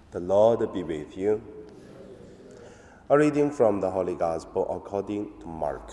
The Lord be with you. A reading from the Holy Gospel according to Mark.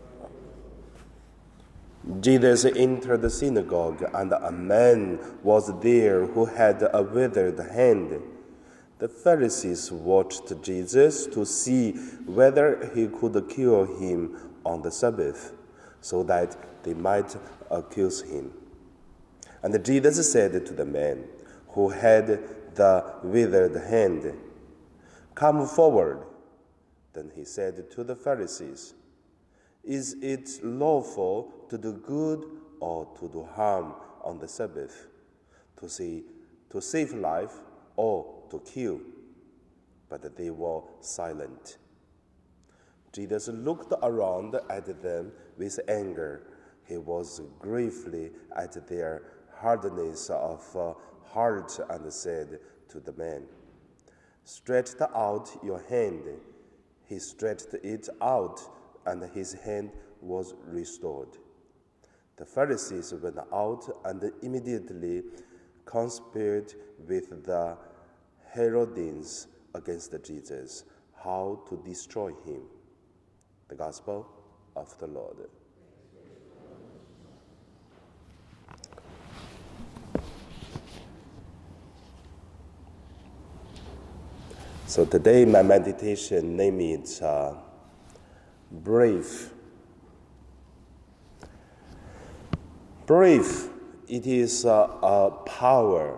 Jesus entered the synagogue, and a man was there who had a withered hand. The Pharisees watched Jesus to see whether he could cure him on the Sabbath, so that they might accuse him. And Jesus said to the man who had the withered hand, "Come forward." Then he said to the Pharisees, "Is it lawful to do good or to do harm on the Sabbath, to save life or to kill?" But they were silent. Jesus looked around at them with anger. He was grieved at their hardness of heart and said to the man, "Stretch out your hand." He stretched it out, and his hand was restored. The Pharisees went out and immediately conspired with the Herodians against Jesus, how to destroy him. The Gospel of the Lord. So today my meditation name is brave. Brave, it is a power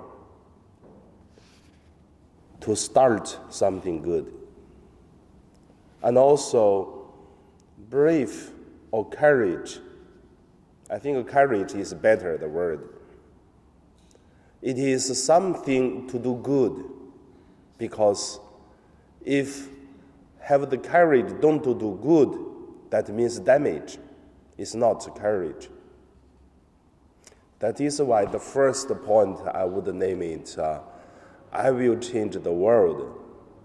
to start something good. And also brave or courage. I think courage is better, the word. It is something to do good, because if have the courage don't to do good, that means damage. It's not courage. That is why the first point I would name it, I will change the world.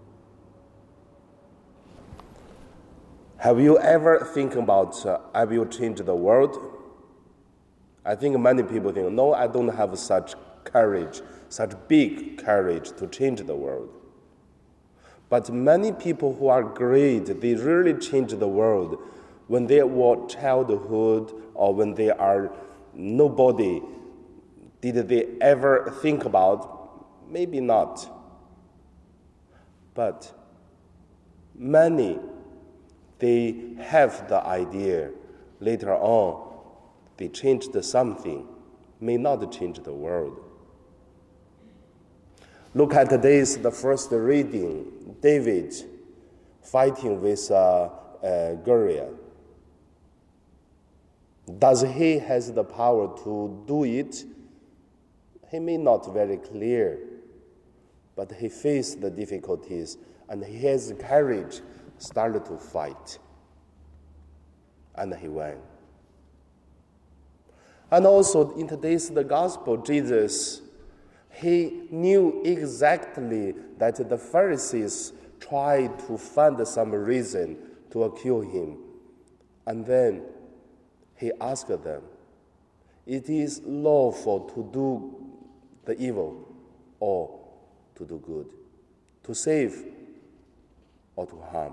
Have you ever think about I will change the world? I think many people think, no, I don't have such courage, such big courage to change the world. But many people who are great, they really change the world when they were childhood or when they are nobody. Did they ever think about? Maybe not. But many, they have the idea. Later on, they changed something, may not change the world. Look at the first reading. David fighting with Goliath. Does he has the power to do it? He may not very clear, but he faced the difficulties and he has courage, started to fight, and he won. And also in today's the gospel, Jesus, he knew exactly that the Pharisees tried to find some reason to accuse him. And then he asked them, "It is lawful to do the evil or to do good, to save or to harm?"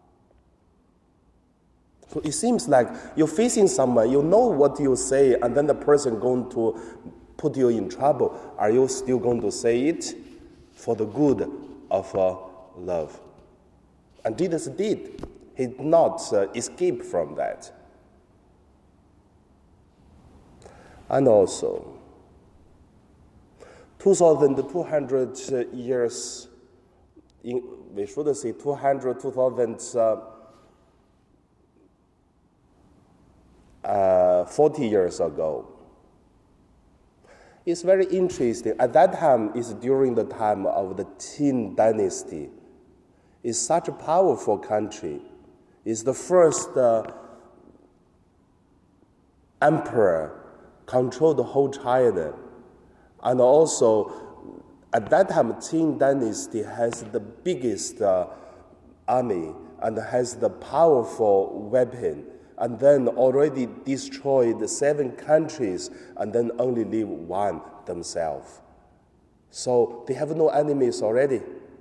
So it seems like you're facing someone, you know what you say, and then the person going to put you in trouble. Are you still going to say it for the good of love? And Jesus did. He did not escape from that. And also, 2,200 years, we should say 40 years ago. It's very interesting. At that time, it's during the time of the Qin dynasty. It's such a powerful country. It's the first emperor controlled the whole China. And also, at that time, Qin dynasty has the biggest army and has the powerful weapon, and then already destroyed 7 countries and then only leave one themselves. So they have no enemies already.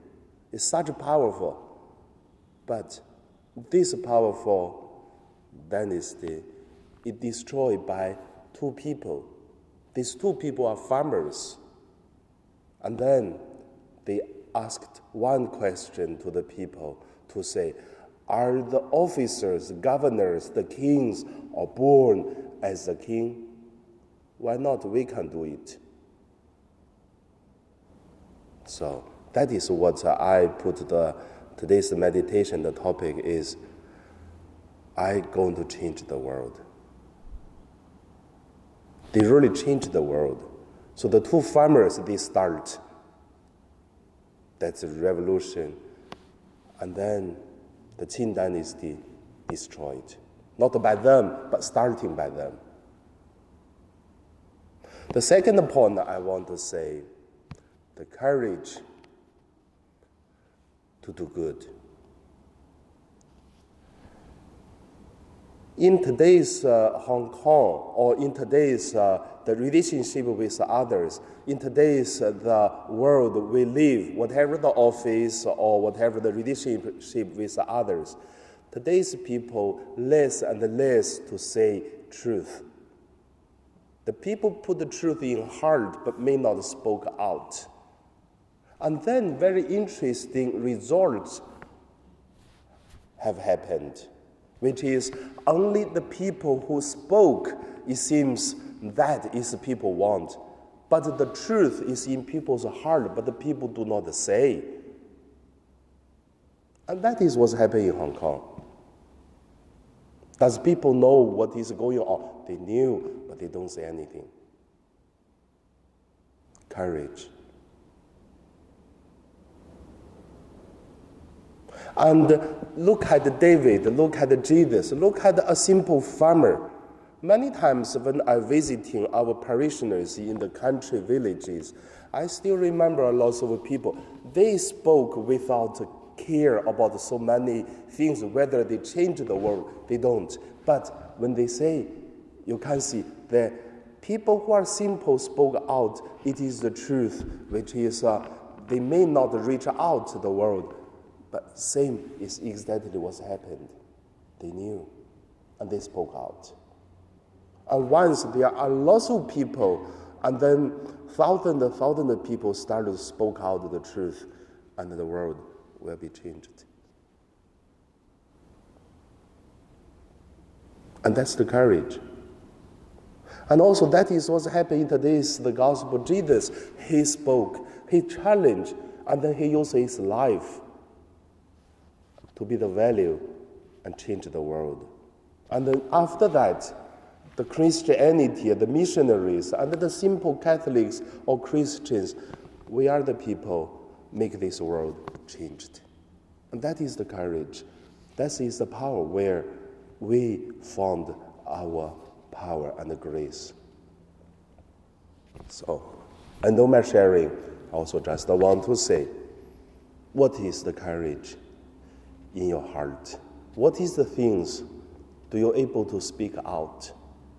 is such powerful. But this powerful dynasty is destroyed by two people. These two people are farmers. And then they asked one question to the people to say, are the officers, governors, the kings, are born as a king? Why not? We can do it. So that is what I put today's meditation. The topic is, I'm going to change the world. They really changed the world. So the two farmers, they start. That's a revolution. And then the Qin dynasty destroyed. Not by them, but starting by them. The second point I want to say, the courage to do good. In today's Hong Kong, or in today's the relationship with others, in today's the world we live, whatever the office or whatever the relationship with others, today's people less and less to say truth. The people put the truth in heart but may not spoke out. And then very interesting results have happened, which is only the people who spoke, it seems that is the people want. But the truth is in people's heart, but the people do not say. And that is what's happening in Hong Kong. Does people know what is going on? They knew, but they don't say anything. Courage. And look at David, look at Jesus, look at a simple farmer. Many times when I'm visiting our parishioners in the country villages, I still remember a lot of people. They spoke without care about so many things, whether they change the world, they don't. But when they say, you can see the people who are simple spoke out, it is the truth, which is they may not reach out to the world, but same is exactly what's happened. They knew, and they spoke out. And once there are lots of people, and then thousands of people started to spoke out the truth, and the world will be changed. And that's the courage. And also that is what's happening today is the gospel. Jesus, he spoke, he challenged, and then he used his life to be the value and change the world. And then after that, the Christianity, the missionaries, and the simple Catholics or Christians, we are the people make this world changed. And that is the courage. That is the power where we found our power and grace. So, and no matter sharing, I also just want to say, what is the courage in your heart? What is the things do you able to speak out?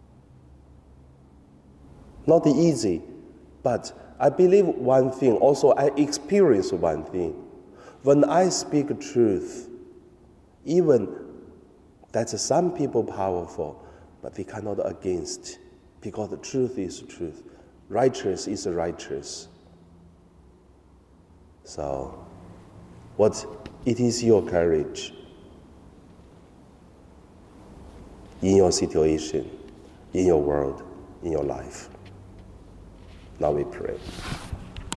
Not easy, but I believe one thing, also I experience one thing. When I speak truth, even that some people powerful, but they cannot against, because the truth is truth. Righteous is righteous. So, what it is your courage in your situation, in your world, in your life. Now we pray.